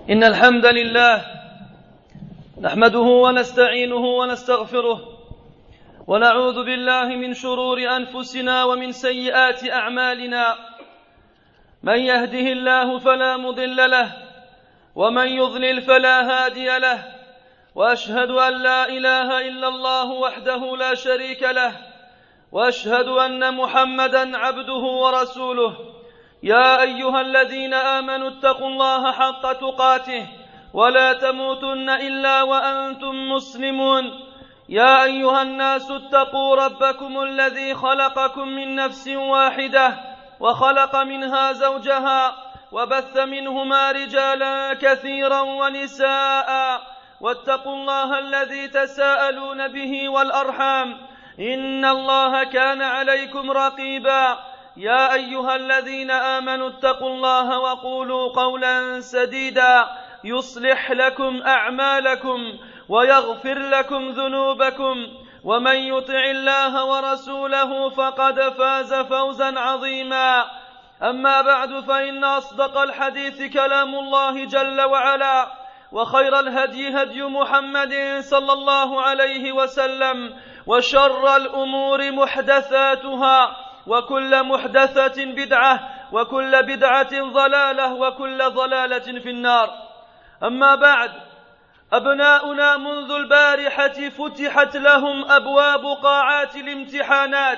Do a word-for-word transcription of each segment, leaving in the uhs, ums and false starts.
إن الحمد لله نحمده ونستعينه ونستغفره ونعوذ بالله من شرور أنفسنا ومن سيئات أعمالنا. من يهده الله فلا مضل له ومن يضلل فلا هادي له، وأشهد أن لا إله إلا الله وحده لا شريك له، وأشهد أن محمدًا عبده ورسوله. يا أيها الذين آمنوا اتقوا الله حق تقاته ولا تموتن إلا وأنتم مسلمون. يا أيها الناس اتقوا ربكم الذي خلقكم من نفس واحدة وخلق منها زوجها وبث منهما رجالا كثيرا ونساء، واتقوا الله الذي تساءلون به والأرحام إن الله كان عليكم رقيبا. يا أيها الذين آمنوا اتقوا الله وقولوا قولا سديدا يصلح لكم أعمالكم ويغفر لكم ذنوبكم، ومن يطع الله ورسوله فقد فاز فوزا عظيما. أما بعد، فإن أصدق الحديث كلام الله جل وعلا، وخير الهدي هدي محمد صلى الله عليه وسلم، وشر الأمور محدثاتها، وكل محدثة بدعة، وكل بدعة ضلالة، وكل ضلالة في النار. أما بعد، أبناؤنا منذ البارحة فتحت لهم أبواب قاعات الامتحانات،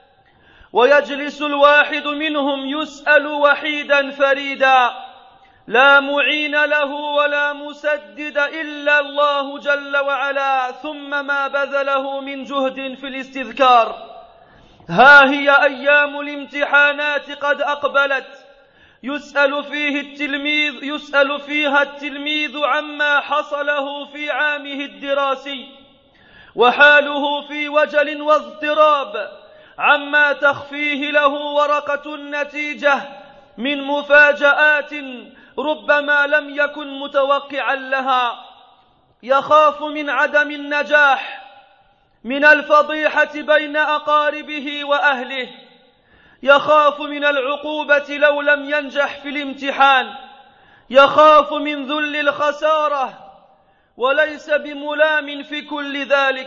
ويجلس الواحد منهم يسأل وحيدا فريدا، لا معين له ولا مسدد إلا الله جل وعلا، ثم ما بذله من جهد في الاستذكار. ها هي أيام الامتحانات قد أقبلت، يسأل فيه التلميذ يسأل فيها التلميذ عما حصله في عامه الدراسي، وحاله في وجل واضطراب عما تخفيه له ورقة النتيجة من مفاجآت ربما لم يكن متوقعا لها. يخاف من عدم النجاح، من الفضيحة بين أقاربه وأهله، يخاف من العقوبة لو لم ينجح في الامتحان، يخاف من ذل الخسارة، وليس بملام في كل ذلك،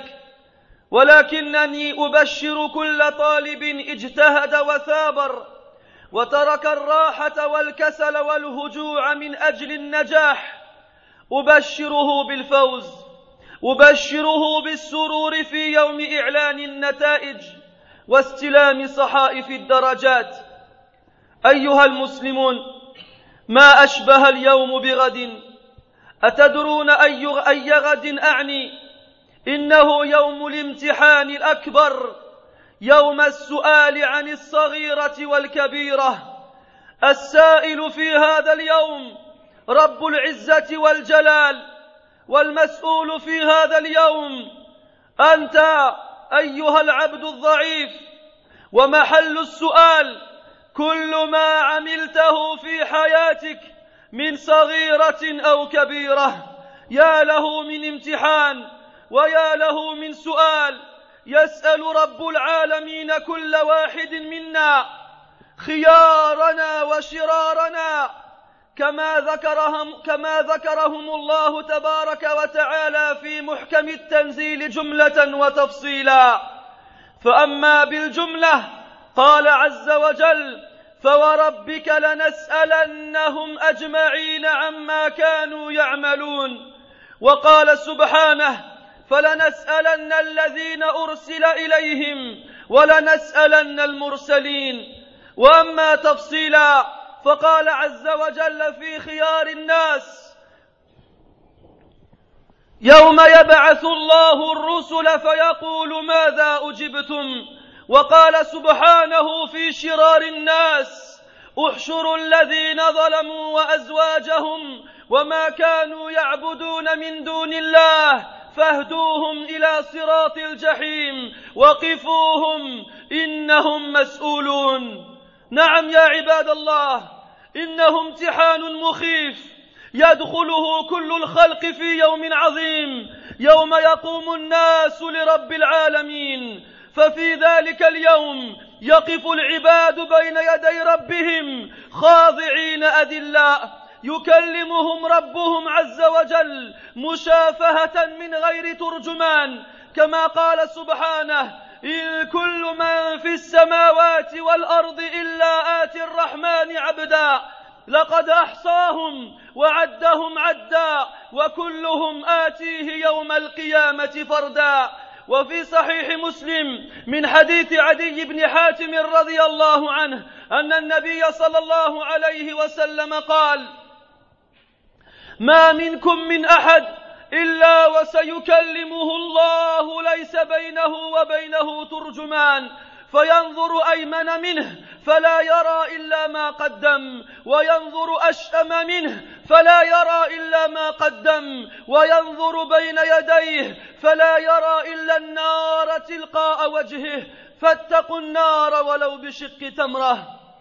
ولكنني أبشر كل طالب اجتهد وثابر وترك الراحة والكسل والهجوع من أجل النجاح، أبشره بالفوز، أبشره بالسرور في يوم إعلان النتائج واستلام صحائف الدرجات. أيها المسلمون، ما أشبه اليوم بغد. أتدرون أي غد أعني؟ إنه يوم الامتحان الأكبر، يوم السؤال عن الصغيرة والكبيرة. السائل في هذا اليوم رب العزة والجلال، والمسؤول في هذا اليوم أنت أيها العبد الضعيف. ومحل السؤال كل ما عملته في حياتك من صغيرة أو كبيرة. يا له من امتحان، ويا له من سؤال. يسأل رب العالمين كل واحد منا خيارنا وشرارنا، كما ذكرهم, كما ذكرهم الله تبارك وتعالى في محكم التنزيل جملة وتفصيلا. فأما بالجملة قال عز وجل: فوربك لنسألنهم أجمعين عما كانوا يعملون. وقال سبحانه: فلنسألن الذين أرسل إليهم ولنسألن المرسلين. وأما تفصيلا فقال عز وجل في خيار الناس: يوم يبعث الله الرسل فيقول ماذا أجبتم. وقال سبحانه في شرار الناس: احشروا الذين ظلموا وأزواجهم وما كانوا يعبدون من دون الله فاهدوهم إلى صراط الجحيم وقفوهم إنهم مسؤولون. نعم يا عباد الله، إنه امتحان مخيف يدخله كل الخلق في يوم عظيم، يوم يقوم الناس لرب العالمين. ففي ذلك اليوم يقف العباد بين يدي ربهم خاضعين أذلاء، يكلمهم ربهم عز وجل مشافهة من غير ترجمان، كما قال سبحانه: إن كل من في السماوات والأرض إلا آتي الرحمن عبدا لقد أحصاهم وعدهم عدا وكلهم آتيه يوم القيامة فردا. وفي صحيح مسلم من حديث عدي بن حاتم رضي الله عنه أن النبي صلى الله عليه وسلم قال: ما منكم من أحد إلا وسيكلمه الله ليس بينه وبينه ترجمان، فينظر أيمن منه فلا يرى إلا ما قدم، وينظر أشأم منه فلا يرى إلا ما قدم، وينظر بين يديه فلا يرى إلا النار تلقاء وجهه، فاتقوا النار ولو بشق تمرة.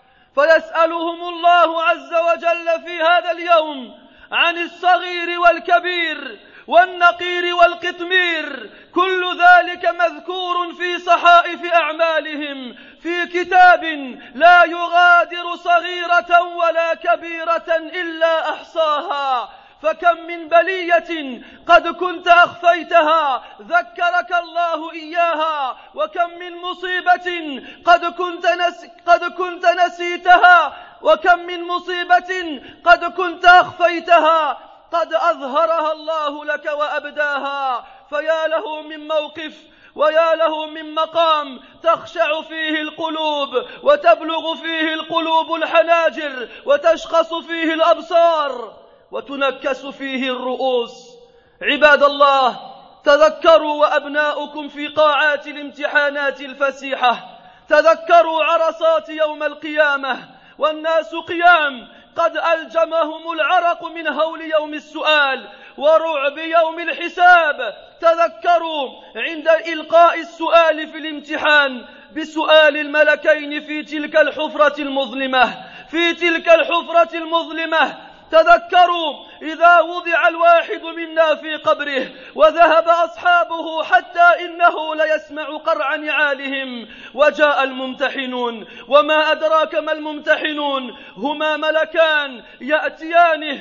فيسألهم الله عز وجل في هذا اليوم عن الصغير والكبير والنقير والقطمير، كل ذلك مذكور في صحائف أعمالهم في كتاب لا يغادر صغيرة ولا كبيرة إلا أحصاها. فكم من بلية قد كنت أخفيتها ذكرك الله إياها، وكم من مصيبة قد كنت, نس قد كنت نسيتها، وكم من مصيبة قد كنت أخفيتها قد أظهرها الله لك وأبداها. فيا له من موقف ويا له من مقام تخشع فيه القلوب وتبلغ فيه القلوب الحناجر وتشخص فيه الأبصار وتنكس فيه الرؤوس. عباد الله، تذكروا وأبناؤكم في قاعات الامتحانات الفسيحة، تذكروا عرصات يوم القيامة والناس قيام قد ألجمهم العرق من هول يوم السؤال ورعب يوم الحساب. تذكروا عند إلقاء السؤال في الامتحان بسؤال الملكين في تلك الحفرة المظلمة في تلك الحفرة المظلمة تذكروا إذا وضع الواحد منا في قبره وذهب أصحابه حتى إنه ليسمع قرع نعالهم وجاء الممتحنون. وما أدراك ما الممتحنون؟ هما ملكان يأتيانه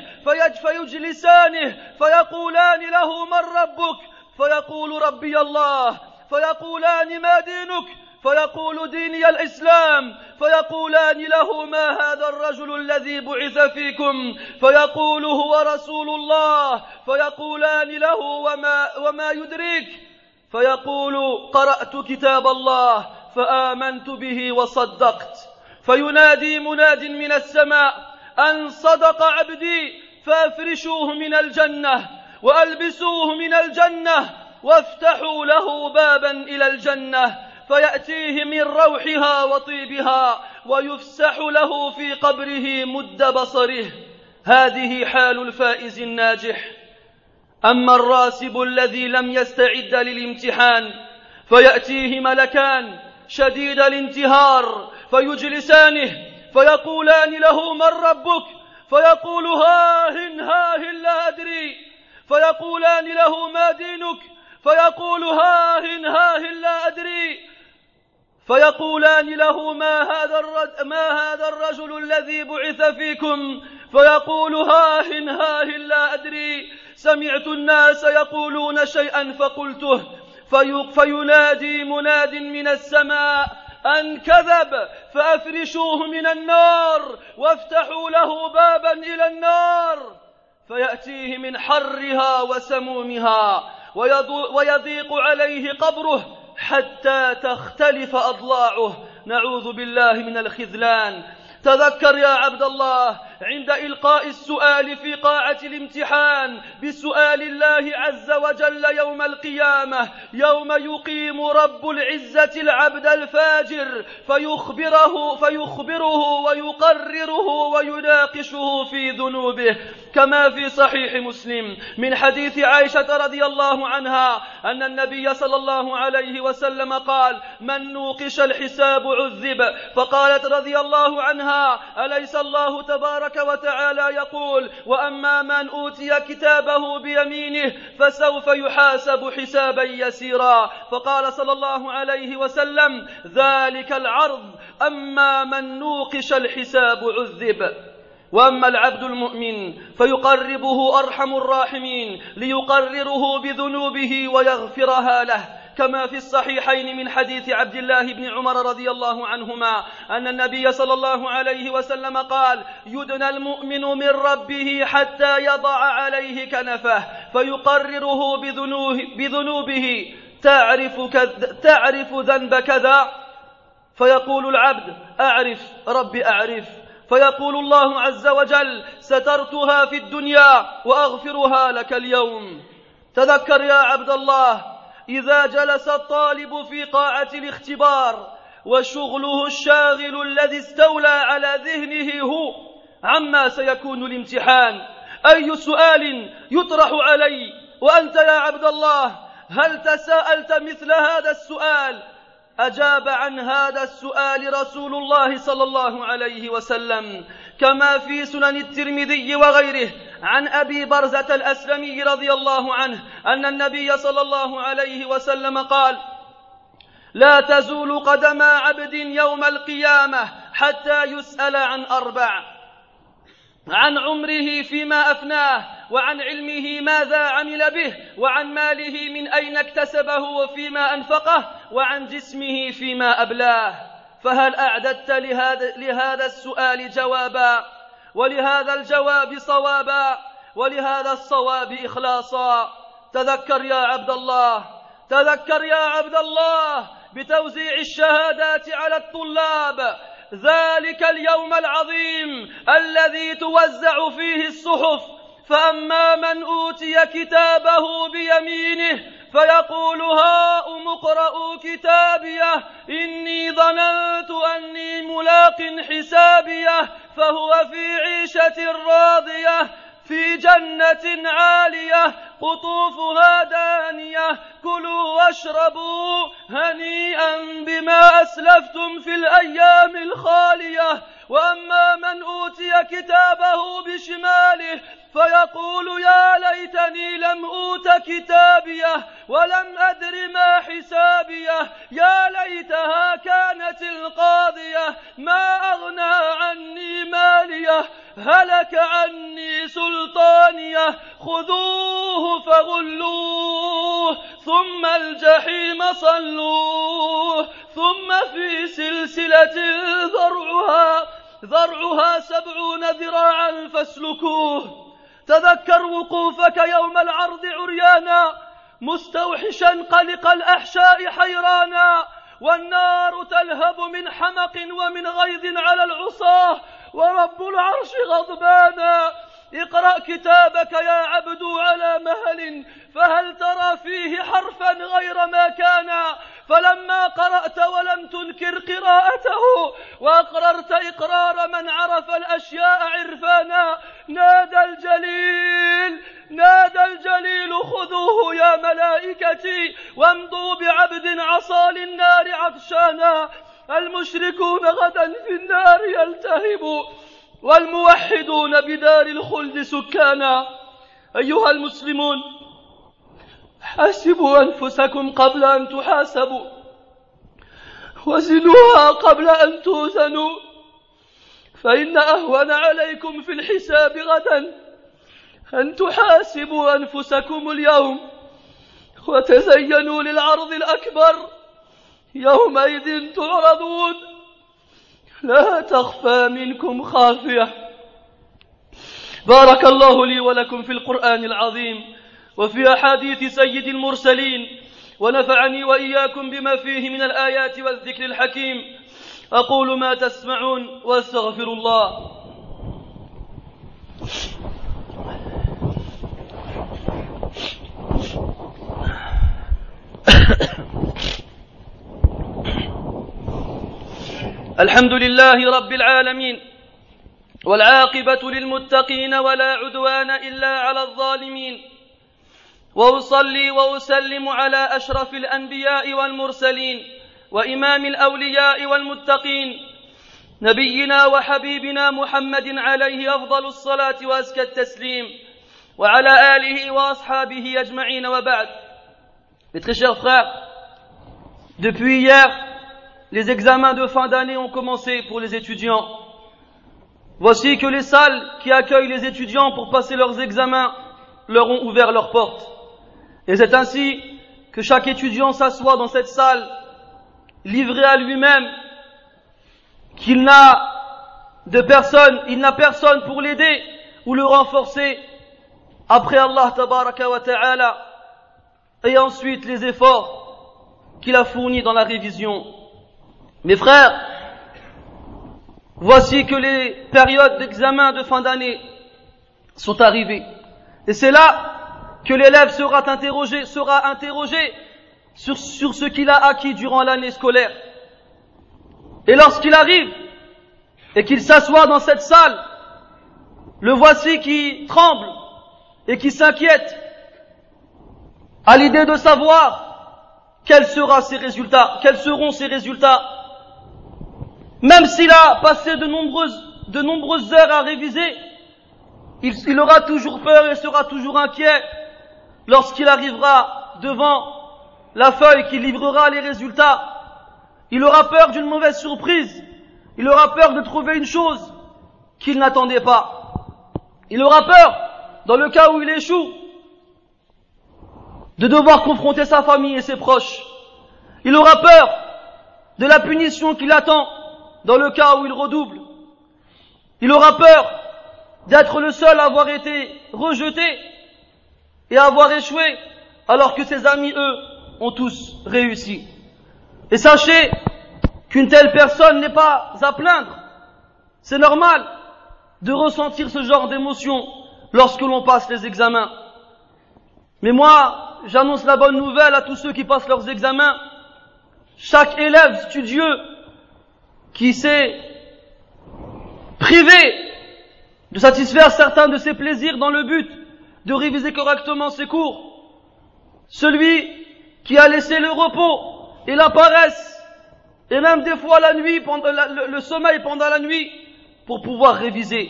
فيجلسانه فيقولان له: من ربك؟ فيقول: ربي الله. فيقولان: ما دينك؟ فيقول: ديني الإسلام. فيقولان له: ما هذا الرجل الذي بعث فيكم؟ فيقول: هو رسول الله. فيقولان له: وما, وما يدريك؟ فيقول: قرأت كتاب الله فآمنت به وصدقت. فينادي مناد من السماء: أن صدق عبدي فافرشوه من الجنة وألبسوه من الجنة وافتحوا له بابا إلى الجنة، فيأتيه من روحها وطيبها ويفسح له في قبره مد بصره. هذه حال الفائز الناجح. أما الراسب الذي لم يستعد للامتحان فيأتيه ملكان شديد الانتهار فيجلسانه فيقولان له: من ربك؟ فيقول: هاهن هاهن لا أدري. فيقولان له: ما دينك؟ فيقول: هاهن هاهن لا أدري. فيقولان له: ما هذا الرجل, ما هذا الرجل الذي بعث فيكم؟ فيقول: هاهن هاهن لا أدري. سمعت الناس يقولون شيئا فقلته. في فينادي مناد من السماء: أن كذب فأفرشوه من النار وافتحوا له بابا إلى النار، فيأتيه من حرها وسمومها ويضيق عليه قبره حتى تختلف أضلاعه. نعوذ بالله من الخذلان. تذكر يا عبد الله عند إلقاء السؤال في قاعة الامتحان بسؤال الله عز وجل يوم القيامة، يوم يقيم رب العزة العبد الفاجر فيخبره, فيخبره ويقرره ويناقشه في ذنوبه، كما في صحيح مسلم من حديث عائشة رضي الله عنها أن النبي صلى الله عليه وسلم قال: من نوقش الحساب عذب. فقالت رضي الله عنها: أليس الله تبارك وتعالى يقول: وأما من أوتي كتابه بيمينه فسوف يحاسب حسابا يسيرا. فقال صلى الله عليه وسلم: ذلك العرض، أما من نوقش الحساب عذب. وأما العبد المؤمن فيقربه أرحم الراحمين ليقرره بذنوبه ويغفرها له، كما في الصحيحين من حديث عبد الله بن عمر رضي الله عنهما أن النبي صلى الله عليه وسلم قال: يدنى المؤمن من ربه حتى يضع عليه كنفه فيقرره بذنوبه تعرف, تعرف ذنب كذا، فيقول العبد: أعرف ربي أعرف، فيقول الله عز وجل: سترتها في الدنيا وأغفرها لك اليوم. تذكر يا عبد الله إذا جلس الطالب في قاعة الاختبار وشغله الشاغل الذي استولى على ذهنه هو عما سيكون الامتحان، أي سؤال يطرح علي وأنت يا عبد الله هل تساءلت مثل هذا السؤال؟ أجاب عن هذا السؤال رسول الله صلى الله عليه وسلم كما في سنن الترمذي وغيره عن أبي برزة الأسلمي رضي الله عنه أن النبي صلى الله عليه وسلم قال: لا تزول قدم عبد يوم القيامة حتى يسأل عن أربع: عن عمره فيما أفناه، وعن علمه ماذا عمل به، وعن ماله من أين اكتسبه وفيما أنفقه، وعن جسمه فيما أبلاه. فهل أعددت لهذا, لهذا السؤال جوابا، ولهذا الجواب صوابا، ولهذا الصواب إخلاصا؟ تذكر يا عبد الله، تذكر يا عبد الله بتوزيع الشهادات على الطلاب ذلك اليوم العظيم الذي توزع فيه الصحف، فأما من أوتي كتابه بيمينه فيقول: هاؤم اقرءوا كتابيه إني ظننت أني ملاق حسابيه، فهو في عيشة راضية في جنة عالية قطوفها دانية كلوا واشربوا هنيئا بما أسلفتم في الأيام الخالية. وأما من أوتي كتابه بشماله فيقول: يا ليتني لم أوت كتابيه ولم أدر ما حسابيه، يا ليتها كانت القاضية ما أغنى عني ماليه هلك عني سلطانيه خذوه فغلوه ثم الجحيم صلوه ثم في سلسلة ذرعها ذرعها سبعون ذراعا فاسلكوه. تذكر وقوفك يوم العرض عريانا مستوحشا قلق الأحشاء حيرانا، والنار تلهب من حمق ومن غيظ على العصاة، ورب العرش غضبانا. اقرأ كتابك يا عبد على مهل، فهل ترى فيه حرفا غير ما كان؟ فلما قرأت ولم تنكر قراءته وأقررت إقرار من عرف الأشياء عرفانا، نادى الجليل نادى الجليل: خذوه يا ملائكتي وامضوا بعبد عصى للنار عطشانا. المشركون غدا في النار يلتهبوا، والموحدون بدار الخلد سكانا. أيها المسلمون، حاسبوا أنفسكم قبل أن تحاسبوا، وزنوها قبل أن توزنوا، فإن أهون عليكم في الحساب غدا أن تحاسبوا أنفسكم اليوم وتزينوا للعرض الأكبر يومئذ تعرضون لا تخفى منكم خافية. بارك الله لي ولكم في القرآن العظيم وفي أحاديث سيد المرسلين، ونفعني وإياكم بما فيه من الآيات والذكر الحكيم. أقول ما تسمعون وأستغفر الله. الحمد لله رب العالمين، والعاقبة للمتقين ولا عدوان إلا على الظالمين، وأصلي وأسلم على أشرف الأنبياء والمرسلين وإمام الأولياء والمتقين نبينا وحبيبنا محمد عليه أفضل الصلاة وأزكى التسليم، وعلى آله وأصحابه أجمعين، وبعد. Mes très chers frères, depuis hier, les examens de fin d'année ont commencé pour les étudiants. Voici que les salles qui accueillent les étudiants pour passer leurs examens leur ont ouvert leurs portes. Et c'est ainsi que chaque étudiant s'assoit dans cette salle, livré à lui-même, qu'il n'a de personne, il n'a personne pour l'aider ou le renforcer après Allah tabaraka wa ta'ala, et ensuite les efforts qu'il a fournis dans la révision. Mes frères, voici que les périodes d'examen de fin d'année sont arrivées. Et c'est là que l'élève sera interrogé, sera interrogé sur, sur ce qu'il a acquis durant l'année scolaire. Et lorsqu'il arrive et qu'il s'assoit dans cette salle, le voici qui tremble et qui s'inquiète à l'idée de savoir quels seront ses résultats, quels seront ses résultats. Même s'il a passé de nombreuses, de nombreuses heures à réviser, il, il aura toujours peur et sera toujours inquiet lorsqu'il arrivera devant la feuille qui livrera les résultats. Il aura peur d'une mauvaise surprise. Il aura peur de trouver une chose qu'il n'attendait pas. Il aura peur, dans le cas où il échoue, de devoir confronter sa famille et ses proches. Il aura peur de la punition qui l'attend dans le cas où il redouble. Il aura peur d'être le seul à avoir été rejeté et à avoir échoué, alors que ses amis, eux, ont tous réussi. Et sachez qu'une telle personne n'est pas à plaindre. C'est normal de ressentir ce genre d'émotion lorsque l'on passe les examens. Mais moi, j'annonce la bonne nouvelle à tous ceux qui passent leurs examens. Chaque élève studieux qui s'est privé de satisfaire certains de ses plaisirs dans le but de réviser correctement ses cours, celui qui a laissé le repos et la paresse, et même des fois la nuit, pendant la, le, le sommeil pendant la nuit, pour pouvoir réviser.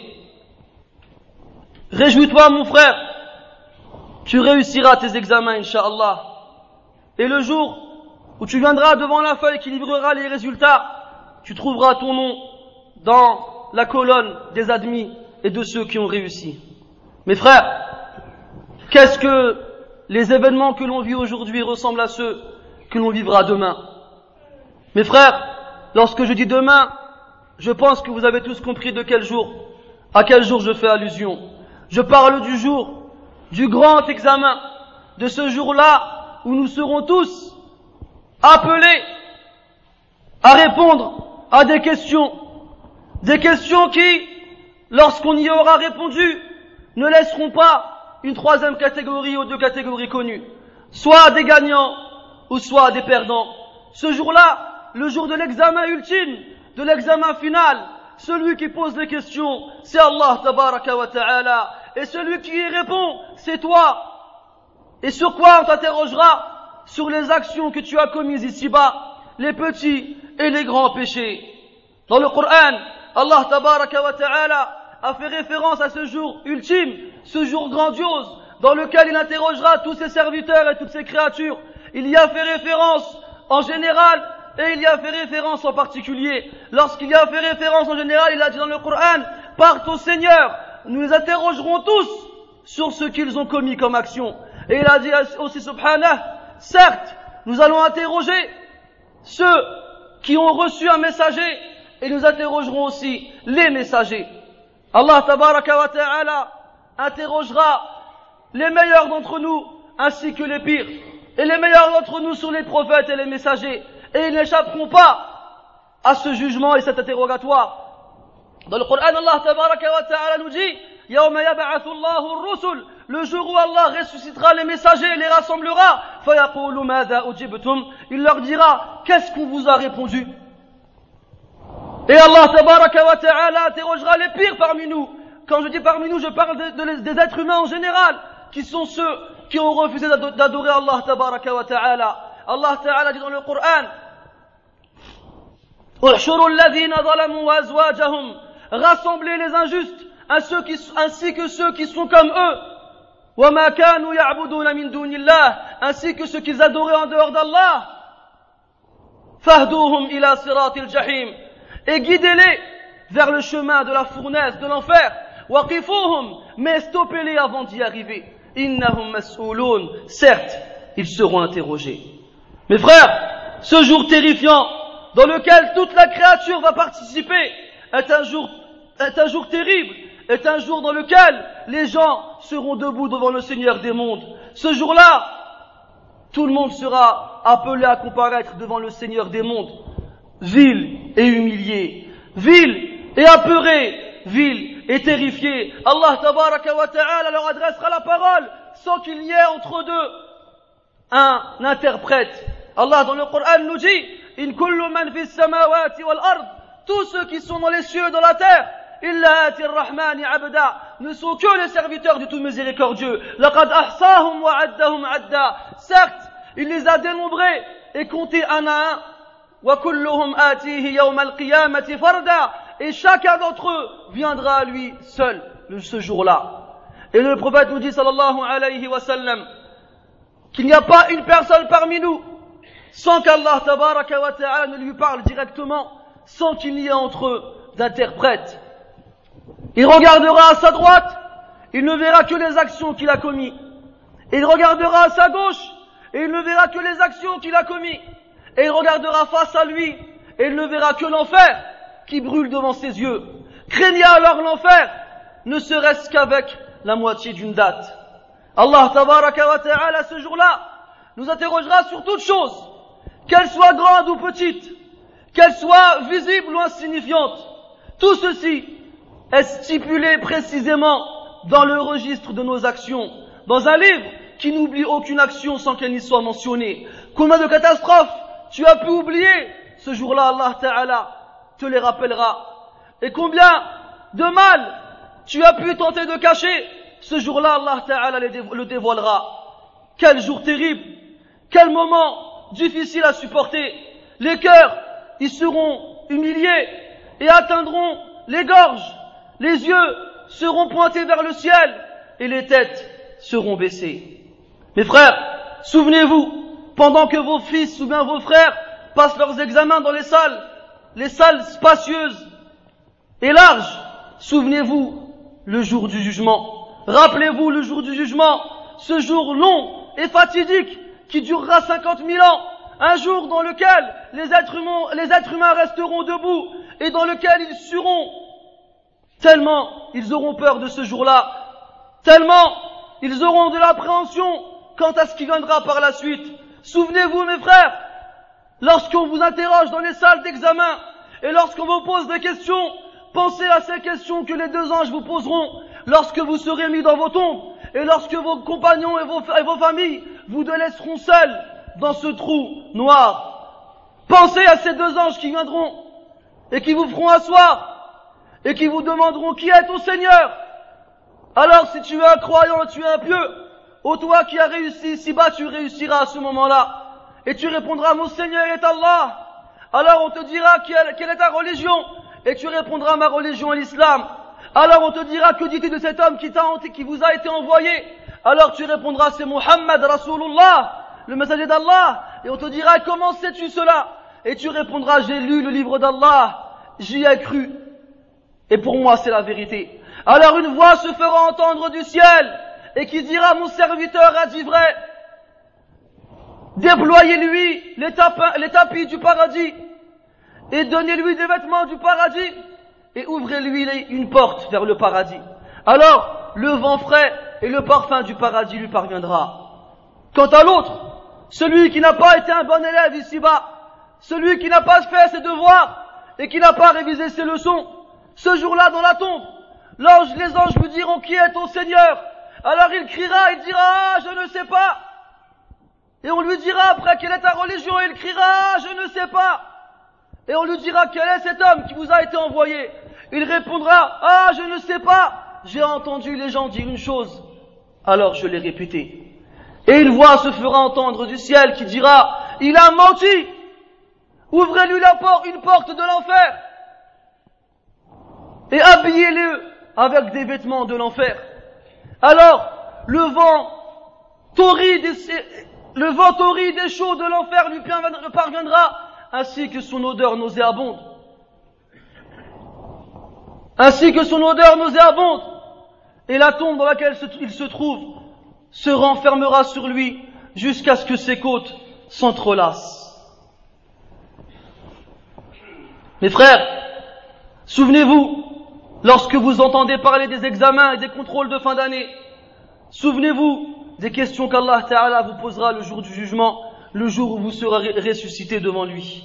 Réjouis-toi, mon frère, tu réussiras tes examens, Inch'Allah. Et le jour où tu viendras devant la feuille qui livrera les résultats, tu trouveras ton nom dans la colonne des admis et de ceux qui ont réussi. Mes frères, qu'est-ce que les événements que l'on vit aujourd'hui ressemblent à ceux que l'on vivra demain? Mes frères, lorsque je dis demain, je pense que vous avez tous compris de quel jour, à quel jour je fais allusion. Je parle du jour, du grand examen, de ce jour-là où nous serons tous appelés à répondre à des questions, des questions qui, lorsqu'on y aura répondu, ne laisseront pas une troisième catégorie ou deux catégories connues, soit des gagnants ou soit des perdants. Ce jour-là, le jour de l'examen ultime, de l'examen final, celui qui pose les questions, c'est Allah tabaraka wa ta'ala, et celui qui y répond, c'est toi. Et sur quoi on t'interrogera? Sur les actions que tu as commises ici-bas, les petits et les grands péchés. Dans le Coran, Allah tabaraka wa ta'ala a fait référence à ce jour ultime, ce jour grandiose, dans lequel il interrogera tous ses serviteurs et toutes ses créatures. Il y a fait référence en général et il y a fait référence en particulier. Lorsqu'il y a fait référence en général, il a dit dans le Coran, par ton Seigneur, nous les interrogerons tous sur ce qu'ils ont commis comme action. Et il a dit aussi subhanah, certes, nous allons interroger ceux qui ont reçu un messager et nous interrogerons aussi les messagers. Allah tabaraka wa ta'ala interrogera les meilleurs d'entre nous ainsi que les pires, et les meilleurs d'entre nous sur les prophètes et les messagers, et ils n'échapperont pas à ce jugement et cet interrogatoire. Dans le Coran, Allah tabaraka wa ta'ala nous dit Yawma yab'athu Allahu ar-rusul, le jour où Allah ressuscitera les messagers et les rassemblera, fayaqulu madha ujibtum, il leur dira qu'est-ce qu'on vous a répondu? Et Allah tabaraka wa ta'ala interrogera les pires parmi nous. Quand je dis parmi nous, je parle de, de, des êtres humains en général, qui sont ceux qui ont refusé d'adorer Allah tabaraka wa ta'ala. Allah ta'ala dit dans le Coran Uhshuru alladhina zalamu wa azwajahum, rassemblez les injustes ainsi que ceux qui sont comme eux, wa ma kanu ya'buduna min dunillah, ainsi que ceux qu'ils adoraient en dehors d'Allah, fahduhum ila siratil jahim, et guidez-les vers le chemin de la fournaise, de l'enfer. Waqifuhum, mais stoppez-les avant d'y arriver. Innahum mas'ouloun, certes, ils seront interrogés. Mes frères, ce jour terrifiant, dans lequel toute la créature va participer, est un jour, est un jour terrible, est un jour dans lequel les gens seront debout devant le Seigneur des mondes. Ce jour-là, tout le monde sera appelé à comparaître devant le Seigneur des mondes, vil et humilié, vil et apeuré, vil et terrifié. Allah tabaraka wa ta'ala leur adressera la parole sans qu'il y ait entre deux un interprète. Allah dans le Coran nous dit: In kullu man fis samawati wal ard, tous ceux qui sont dans les cieux et dans la terre, illa ati ar-rahmani abda, ne sont que les serviteurs du tout miséricordieux. Laqad ahsahum wa addahum adda, certes, il les a dénombrés et comptés un à un. Wa kulluhum atihi yawm al-qiyamati farda, et chacun d'entre eux viendra à lui seul ce jour-là. Et le prophète nous dit sallallahu alayhi wa sallam qu'il n'y a pas une personne parmi nous sans qu'Allah tabaraka wa ta'ala ne lui parle directement, sans qu'il n'y ait entre eux d'interprète. Il regardera à sa droite, il ne verra que les actions qu'il a commises. Il regardera à sa gauche, et il ne verra que les actions qu'il a commises. Et il regardera face à lui, et il ne verra que l'enfer qui brûle devant ses yeux. Craignez alors l'enfer, ne serait-ce qu'avec la moitié d'une date. Allah tabaraka wa ta'ala ce jour-là nous interrogera sur toute chose, qu'elle soit grande ou petite, qu'elle soit visible ou insignifiante. Tout ceci est stipulé précisément dans le registre de nos actions, dans un livre qui n'oublie aucune action sans qu'elle n'y soit mentionnée. Combien de catastrophes tu as pu oublier, ce jour-là Allah Ta'ala te les rappellera. Et combien de mal tu as pu tenter de cacher, ce jour-là Allah Ta'ala le dévoilera. Quel jour terrible, quel moment difficile à supporter. Les cœurs y seront humiliés et atteindront les gorges. Les yeux seront pointés vers le ciel et les têtes seront baissées. Mes frères, souvenez-vous, pendant que vos fils ou bien vos frères passent leurs examens dans les salles, les salles spacieuses et larges, souvenez-vous le jour du jugement. Rappelez-vous le jour du jugement, ce jour long et fatidique qui durera cinquante mille ans, un jour dans lequel les êtres humains, les êtres humains resteront debout et dans lequel ils seront tellement ils auront peur de ce jour-là, tellement ils auront de l'appréhension quant à ce qui viendra par la suite. Souvenez-vous mes frères, lorsqu'on vous interroge dans les salles d'examen et lorsqu'on vous pose des questions, pensez à ces questions que les deux anges vous poseront lorsque vous serez mis dans vos tombes et lorsque vos compagnons et vos, et vos familles vous laisseront seuls dans ce trou noir. Pensez à ces deux anges qui viendront et qui vous feront asseoir et qui vous demanderont qui est ton Seigneur. Alors si tu es un croyant, tu es un pieux, ô toi qui as réussi ici-bas, tu réussiras à ce moment-là. Et tu répondras, mon Seigneur est Allah. Alors on te dira quelle est ta religion, et tu répondras, ma religion est l'islam. Alors on te dira, que dis-tu de cet homme qui t'a, qui vous a été envoyé? Alors tu répondras, c'est Muhammad Rasulullah, le messager d'Allah. Et on te dira, comment sais-tu cela? Et tu répondras, j'ai lu le livre d'Allah, j'y ai cru. Et pour moi c'est la vérité. Alors une voix se fera entendre du ciel, et qui dira, mon serviteur a dit vrai. Déployez-lui les, tapins, les tapis du paradis, et donnez-lui des vêtements du paradis, et ouvrez-lui une porte vers le paradis. Alors, le vent frais et le parfum du paradis lui parviendra. Quant à l'autre, celui qui n'a pas été un bon élève ici-bas, celui qui n'a pas fait ses devoirs, et qui n'a pas révisé ses leçons, ce jour-là dans la tombe, l'ange, les anges lui diront, qui est ton Seigneur? Alors il criera, il dira, ah, je ne sais pas. Et on lui dira après, quelle est ta religion? Et il criera, ah, je ne sais pas. Et on lui dira, quel est cet homme qui vous a été envoyé? Il répondra, ah, je ne sais pas. J'ai entendu les gens dire une chose, alors je l'ai répétée. Et une voix se fera entendre du ciel qui dira, il a menti. Ouvrez-lui la porte, une porte de l'enfer. Et habillez-le avec des vêtements de l'enfer. Alors, le vent torride et, le vent torride et chaud de l'enfer lui parviendra, ainsi que son odeur nauséabonde. ainsi que son odeur nauséabonde, et la tombe dans laquelle il se trouve se renfermera sur lui jusqu'à ce que ses côtes s'entrelacent. Mes frères, souvenez-vous, lorsque vous entendez parler des examens et des contrôles de fin d'année, souvenez-vous des questions qu'Allah Ta'ala vous posera le jour du jugement, le jour où vous serez ressuscité devant lui.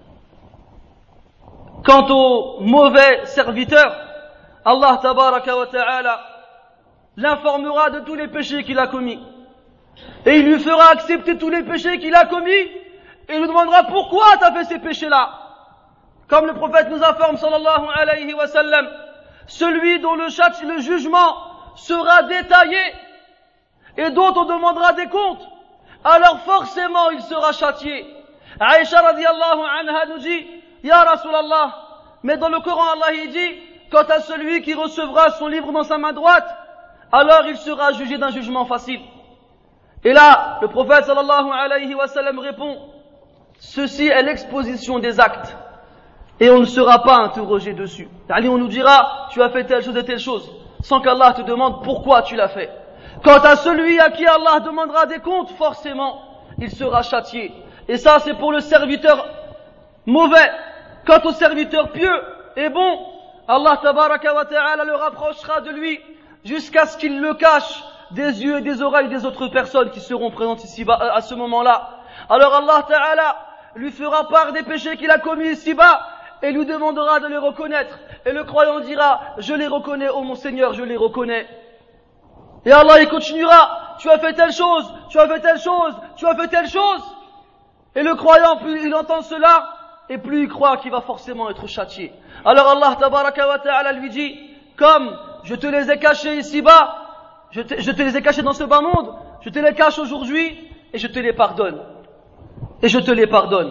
Quant au mauvais serviteur, Allah Tabaraka wa Ta'ala l'informera de tous les péchés qu'il a commis. Et il lui fera accepter tous les péchés qu'il a commis, et il lui demandera pourquoi tu as fait ces péchés-là. Comme le prophète nous informe, sallallahu alayhi wa sallam, celui dont le châti, le jugement sera détaillé et dont on demandera des comptes, alors forcément il sera châtié. Aïcha radiyallahu anha nous dit, Ya Rasulallah, mais dans le Coran Allah il dit, quant à celui qui recevra son livre dans sa main droite, alors il sera jugé d'un jugement facile. Et là, le prophète sallallahu alayhi wa sallam répond, ceci est l'exposition des actes. Et on ne sera pas interrogé dessus. C'est-à-dire, on nous dira, tu as fait telle chose et telle chose, sans qu'Allah te demande pourquoi tu l'as fait. Quant à celui à qui Allah demandera des comptes, forcément, il sera châtié. Et ça, c'est pour le serviteur mauvais. Quant au serviteur pieux et bon, Allah tabaraka wa ta'ala le rapprochera de lui jusqu'à ce qu'il le cache des yeux et des oreilles des autres personnes qui seront présentes ici-bas à ce moment-là. Alors Allah ta'ala lui fera part des péchés qu'il a commis ici-bas et lui demandera de les reconnaître. Et le croyant dira, je les reconnais, ô mon Seigneur, je les reconnais. Et Allah il continuera, tu as fait telle chose, tu as fait telle chose, tu as fait telle chose. Et le croyant, plus il entend cela, et plus il croit qu'il va forcément être châtié. Alors Allah tabaraka wa ta'ala lui dit, comme je te les ai cachés ici-bas, je te, je te les ai cachés dans ce bas monde, je te les cache aujourd'hui, et je te les pardonne. Et je te les pardonne.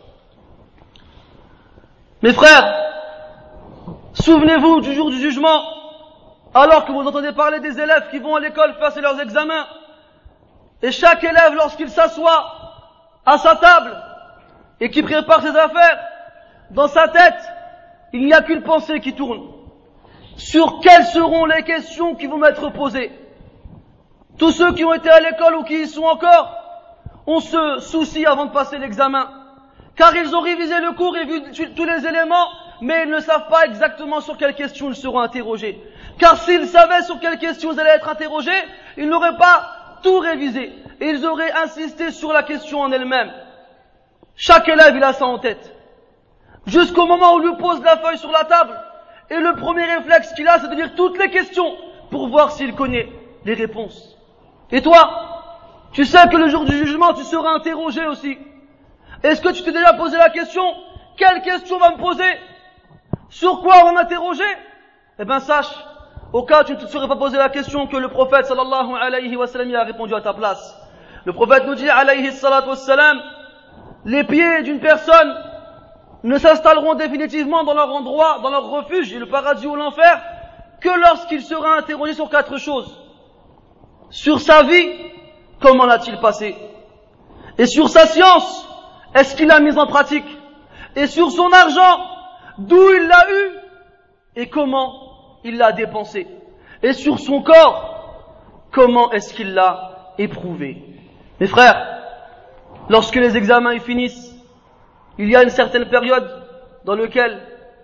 Mes frères, souvenez-vous du jour du jugement, alors que vous entendez parler des élèves qui vont à l'école passer leurs examens, et chaque élève, lorsqu'il s'assoit à sa table, et qui prépare ses affaires, dans sa tête, il n'y a qu'une pensée qui tourne. Sur quelles seront les questions qui vont m'être posées? Tous ceux qui ont été à l'école ou qui y sont encore, on se soucie avant de passer l'examen. Car ils ont révisé le cours et vu tous les éléments, mais ils ne savent pas exactement sur quelles questions ils seront interrogés. Car s'ils savaient sur quelles questions ils allaient être interrogés, ils n'auraient pas tout révisé. Et ils auraient insisté sur la question en elle-même. Chaque élève, il a ça en tête. Jusqu'au moment où on lui pose la feuille sur la table, et le premier réflexe qu'il a, c'est de lire toutes les questions pour voir s'il connaît les réponses. Et toi, tu sais que le jour du jugement, tu seras interrogé aussi. Est-ce que tu t'es déjà posé la question, quelle question va me poser? Sur quoi on va m'interroger? Eh bien sache, au cas où tu ne te serais pas posé la question, que le prophète sallallahu alayhi wa sallam a répondu à ta place. Le prophète nous dit alayhi salatu wa sallam, les pieds d'une personne ne s'installeront définitivement dans leur endroit, dans leur refuge, le paradis ou l'enfer, que lorsqu'il sera interrogé sur quatre choses. Sur sa vie, comment l'a-t-il passé? Et sur sa science, est-ce qu'il l'a mise en pratique? Et sur son argent, d'où il l'a eu? Et comment il l'a dépensé? Et sur son corps, comment est-ce qu'il l'a éprouvé? Mes frères, lorsque les examens y finissent, il y a une certaine période dans laquelle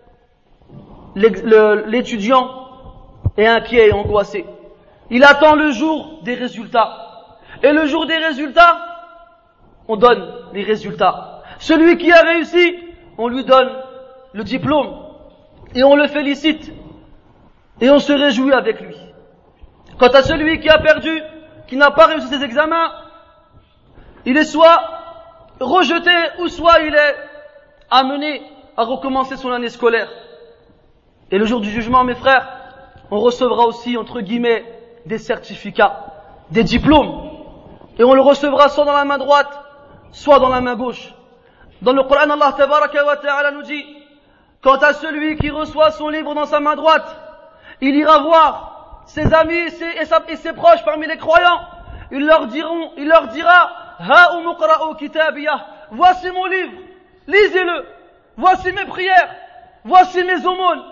l'étudiant est inquiet et angoissé. Il attend le jour des résultats. Et le jour des résultats, on donne les résultats. Celui qui a réussi, on lui donne le diplôme. Et on le félicite. Et on se réjouit avec lui. Quant à celui qui a perdu, qui n'a pas réussi ses examens, il est soit rejeté ou soit il est amené à recommencer son année scolaire. Et le jour du jugement, mes frères, on recevra aussi, entre guillemets, des certificats, des diplômes. Et on le recevra soit dans la main droite, soit dans la main gauche. Dans le Coran, Allah tabaraka wa ta'ala nous dit, quant à celui qui reçoit son livre dans sa main droite, il ira voir ses amis ses, et, sa, et ses proches parmi les croyants. Il leur diront, il leur dira, Ha'u muqra'u kitabiyah, voici mon livre, lisez-le. Voici mes prières, voici mes aumônes,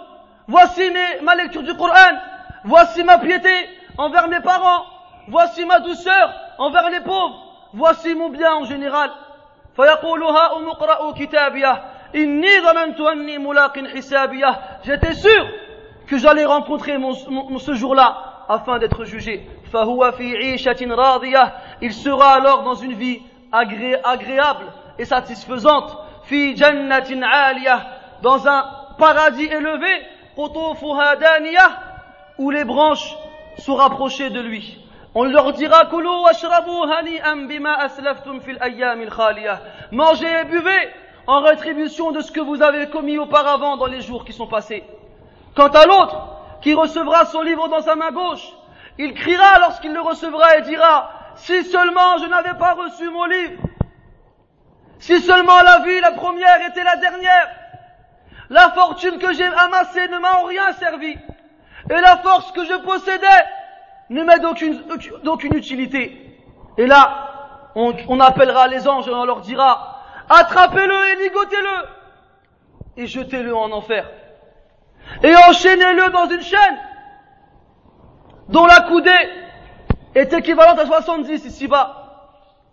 voici mes, ma lecture du Coran, voici ma piété envers mes parents, voici ma douceur envers les pauvres, voici mon bien en général. فيقول هاؤم اقرأوا كتابيه إني ظننت أني ملاق حسابيه. J'étais sûr que j'allais rencontrer mon, mon, ce jour-là afin d'être jugé. فهو في عيشة راضية. Il sera alors dans une vie agré, agréable et satisfaisante. في جنة عالية. Dans un paradis élevé. قطوفها دانية. Où les branches sont rapprochées de lui. On leur dira كلوا واشربوا هنيئا بما أسلفتم في الأيام الخالية. Mangez et buvez en rétribution de ce que vous avez commis auparavant dans les jours qui sont passés. Quant à l'autre, qui recevra son livre dans sa main gauche, il criera lorsqu'il le recevra et dira « Si seulement je n'avais pas reçu mon livre, si seulement la vie, la première, était la dernière, la fortune que j'ai amassée ne m'a en rien servi, et la force que je possédais ne m'est d'aucune, d'aucune utilité. » Et là, on, on appellera les anges et on leur dira « Attrapez-le et ligotez-le, et jetez-le en enfer. Et enchaînez-le dans une chaîne dont la coudée est équivalente à soixante-dix ici-bas. »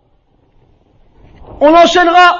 On l'enchaînera.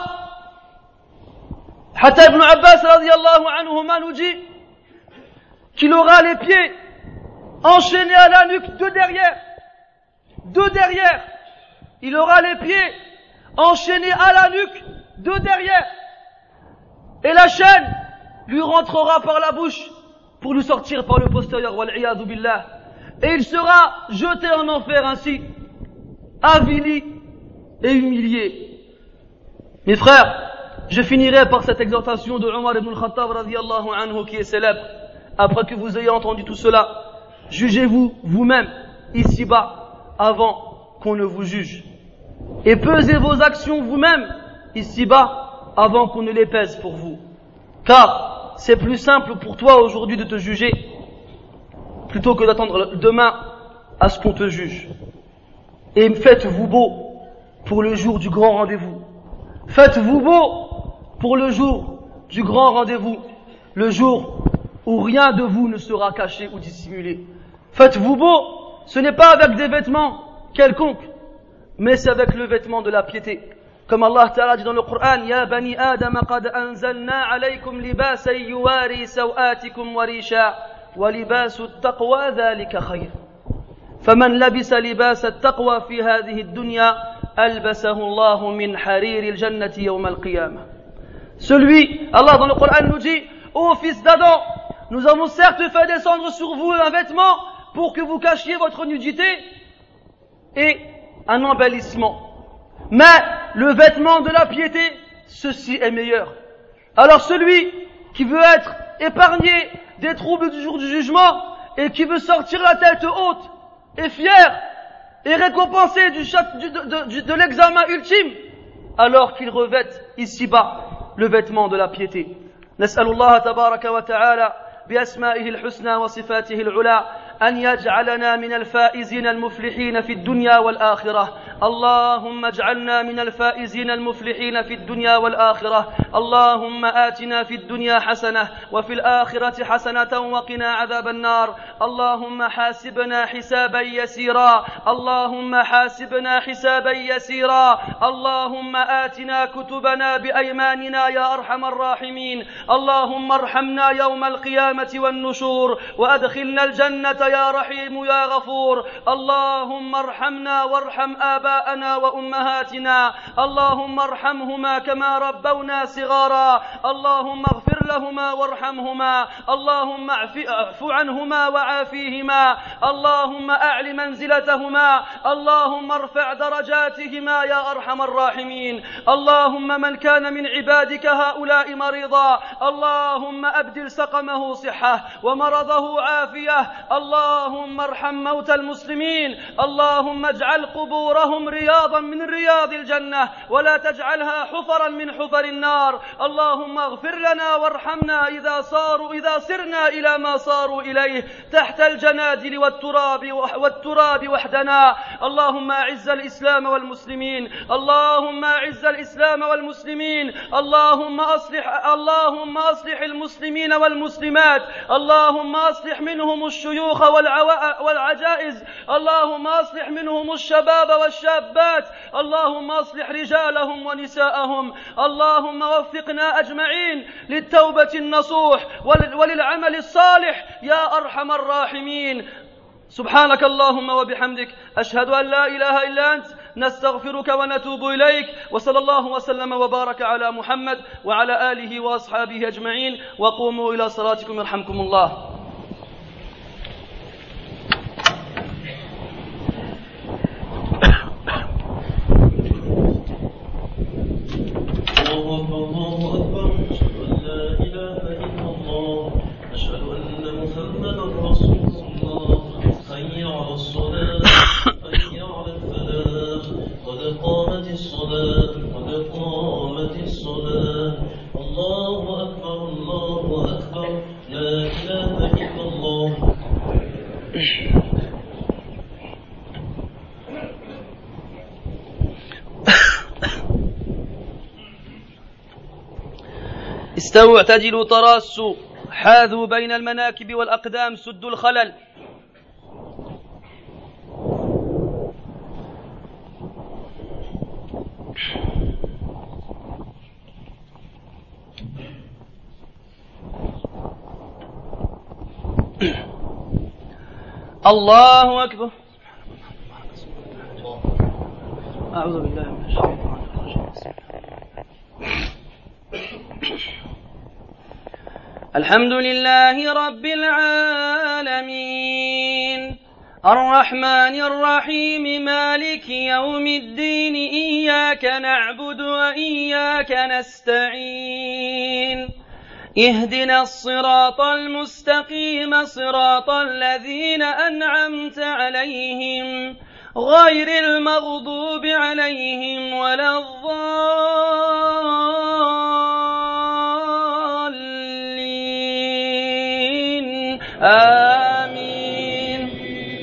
Hatta ibn Abbas radiyallahu anhuma nous dit qu'il aura les pieds enchaînés à la nuque, deux derrière. Deux derrière. Il aura les pieds enchaînés à la nuque, deux derrière. Et la chaîne lui rentrera par la bouche pour lui sortir par le postérieur, wal-iyadu billah. Et il sera jeté en enfer ainsi, avili et humilié. Mes frères, je finirai par cette exhortation de Omar ibn al-Khattab radiyallahu anhu qui est célèbre. Après que vous ayez entendu tout cela, jugez-vous vous-même ici-bas avant qu'on ne vous juge. Et pesez vos actions vous-même ici-bas avant qu'on ne les pèse pour vous. Car c'est plus simple pour toi aujourd'hui de te juger plutôt que d'attendre demain à ce qu'on te juge. Et faites-vous beau pour le jour du grand rendez-vous. Faites-vous beau pour le jour du grand rendez-vous, le jour où rien de vous ne sera caché ou dissimulé. Faites-vous beau, ce n'est pas avec des vêtements quelconques, mais c'est avec le vêtement de la piété. Comme Allah Ta'ala dit dans le Coran, Ya bani Adam, qad anzalna alaykum libasan yuwari sawatikum wa risha, wa libasu at-taqwa dhalika khayr. Faman labisa libasa at-taqwa fi hadhihi ad-dunya, albasahu Allah min harir al-jannati yawm al-qiyamah. Celui, Allah dans le Coran nous dit, ô fils d'Adam, nous avons certes fait descendre sur vous un vêtement pour que vous cachiez votre nudité et un embellissement. Mais le vêtement de la piété, ceci est meilleur. Alors celui qui veut être épargné des troubles du jour du jugement et qui veut sortir la tête haute et fier et récompensé du, du, de, de, de l'examen ultime, alors qu'il revête ici-bas le vêtement de la piété. Nas'alullah tabaraka wa ta'ala بأسمائه الحسنى وصفاته العلى أن يجعلنا من الفائزين المفلحين في الدنيا والآخرة. اللهم اجعلنا من الفائزين المفلحين في الدنيا والآخرة. اللهم آتنا في الدنيا حسنة وفي الآخرة حسنة وقنا عذاب النار. اللهم حاسبنا حسابا يسيرا. اللهم حاسبنا حسابا يسيرا. اللهم آتنا كتبنا بأيماننا يا أرحم الراحمين. اللهم ارحمنا يوم القيامة والنشور وأدخلنا الجنة يا رحيم يا غفور. اللهم ارحمنا وارحم آباءنا وأمهاتنا. اللهم ارحمهما كما ربونا صغارا. اللهم اغفر لهما وارحمهما. اللهم اعف عنهما وعافيهما. اللهم أعل منزلتهما. اللهم ارفع درجاتهما يا أرحم الراحمين. اللهم من كان من عبادك هؤلاء مريضا اللهم أبدل سقمه صحة ومرضه عافية. اللهم ارحم موتى المسلمين. اللهم اجعل قبورهم رياضا من رياض الجنة ولا تجعلها حفرا من حفر النار. اللهم اغفر لنا وارحمنا وارحمنا إذا صاروا إذا سرنا إلى ما صاروا إليه تحت الجنادل والتراب والتراب وحدنا. اللهم أعز الإسلام والمسلمين، اللهم أعز الإسلام والمسلمين، اللهم أصلح اللهم أصلح المسلمين والمسلمات، اللهم أصلح منهم الشيوخ والعجائز، اللهم أصلح منهم الشباب والشابات، اللهم أصلح رجالهم ونساءهم، اللهم وفقنا أجمعين للتوبة النصوح وللعمل الصالح يا أرحم الراحمين. سبحانك اللهم وبحمدك، أشهد أن لا إله إلا أنت، نستغفرك ونتوب إليك، وصلى الله وسلم وبارك على محمد وعلى آله وأصحابه أجمعين، وقوموا إلى صلاتكم يرحمكم الله. الله أكبر، أشهد أن لا إله إلا الله، أشهد أن محمدا رسول الله. حي على الصلاة، حي على الفلاح، قد قامت الصلاة، قد قامت الصلاة. الله أكبر، الله أكبر، لا إله إلا الله. استووا اعتدلوا تراصوا، حاذوا بين المناكب والأقدام، سدوا الخلل. الله أكبر. أعوذ بالله من الشيطان الرجيم. الحمد لله رب العالمين، الرحمن الرحيم، مالك يوم الدين، إياك نعبد وإياك نستعين، اهدنا الصراط المستقيم، صراط الذين أنعمت عليهم غير المغضوب عليهم ولا الضالين، آمين.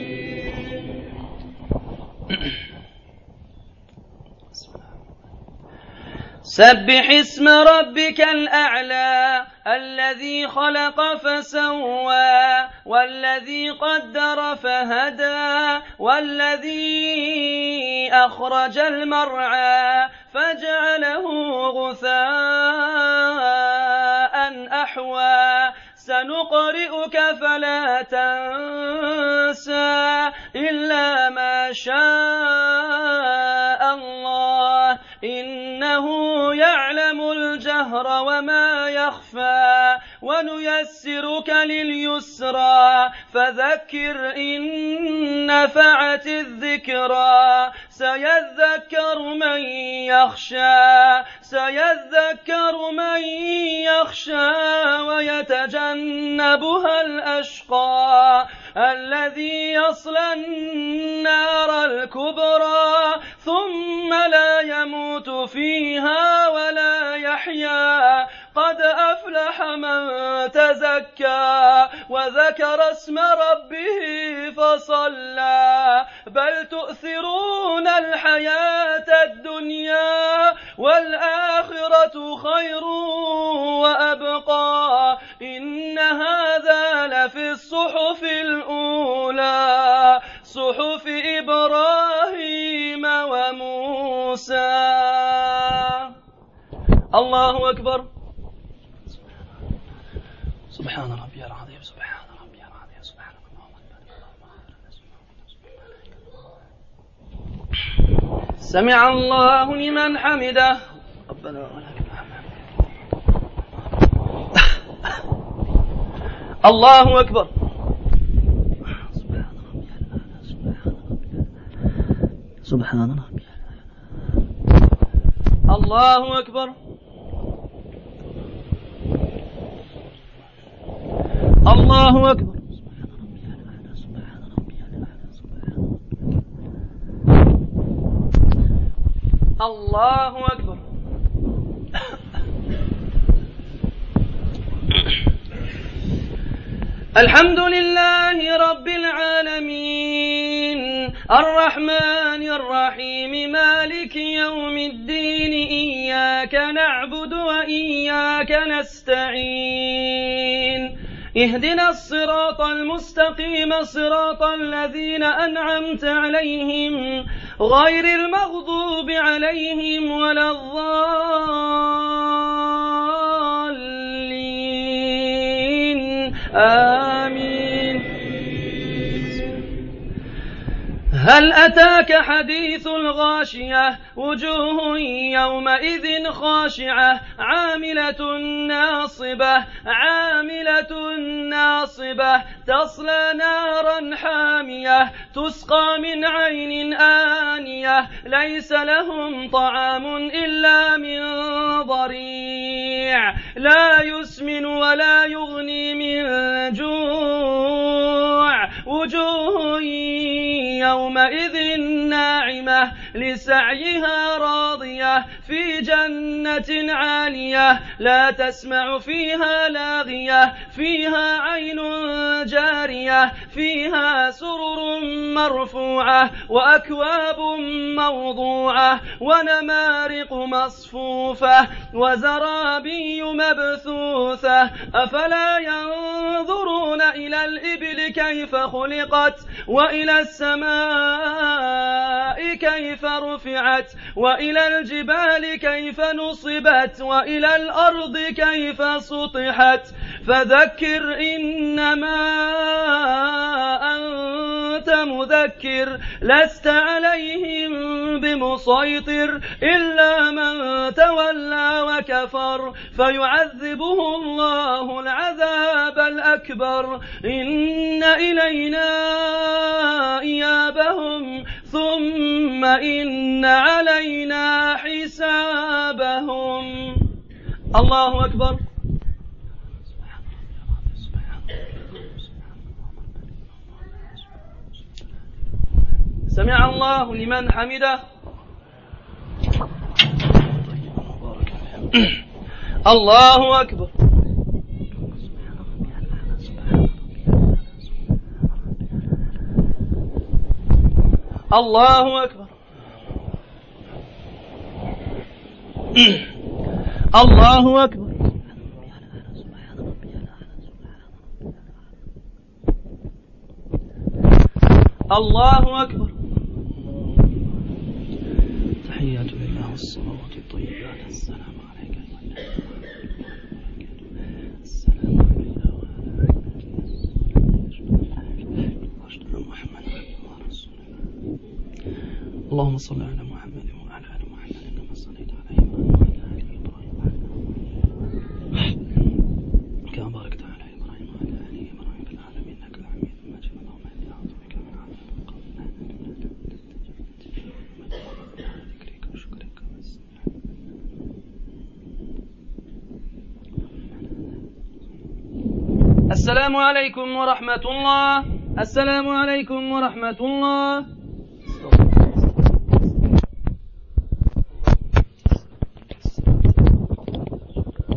سبح اسم ربك الأعلى، الذي خلق فسوى، والذي قدر فهدى، والذي أخرج المرعى فجعله غثاء أحوى. سنقرئك فلا تنسى إلا ما شاء الله، إنه يعلم الجهر وما يخفى، ونيسرك لليسرى، فذكر إن نفعت الذكرى، سيذكر من يخشى، سيذكر من يخشى، ويتجنبها الأشقى الذي يصلى النار الكبرى، ثم لا يموت فيها ولا يحيا. قد أفلح من تزكى وذكر اسم ربه فصلى، بل تؤثرون الحياة الدنيا والآخرة خير وأبقى، إن هذا لفي الصحف الأولى، صحف إبراهيم وموسى. الله أكبر. سبحان ربي العظيم، سبحان ربي العظيم، سبحان الله. سمع الله لمن حمده، ربنا ولك الحمد. الله أكبر. سبحان ربي، الله أكبر. الله أكبر. الله أكبر. الحمد لله رب العالمين الرحمن الرحيم مالك يوم الدين إياك نعبد وإياك نستعين اهدنا الصراط المستقيم صراط الذين أنعمت عليهم غير المغضوب عليهم ولا الضالين آمين. هل أتاك حديث الغاشية وجوه يومئذ خاشعة عاملة ناصبة عاملة ناصبة تصلى نارا حامية تسقى من عين آنية ليس لهم طعام إلا من ضريع لا يسمن ولا يغني من جوع وجوه يومئذ ناعمة لسعيها راضية في جنة عالية لا تسمع فيها لاغية فيها عين جارية فيها سرر مرفوعة وأكواب موضوعة ونمارق مصفوفة وزرابي مبثوثة أفلا ينظرون إلى الإبل كيف خلقت وإلى السماء كيف رفعت وإلى الجبال كيف نصبت وإلى الأرض كيف سطحت فذكر إنما أنت مذكر لست عليهم بمسيطر إلا من تولى وكفر فيعذبه الله العذاب الأكبر إن إلينا إيابهم ثم إن علينا حسابهم. الله أكبر. سمع الله لمن حمده. الله أكبر. الله أكبر. الله أكبر. الله أكبر. تحيات لله والصلوات الطيبات السلام عليك السلام علينا وعلى محمد ورسوله. اللهم صل على محمد وعلى آل محمد كما صليت على إبراهيم وعلى آل إبراهيم كما باركت على إبراهيم وعلى آل إبراهيم في العالمين إنك حميد مجيد. اللهم إني أعوذ بك من عذاب القبر ذكرك وشكرك. السلام عليكم ورحمة الله. السلام عليكم ورحمة الله.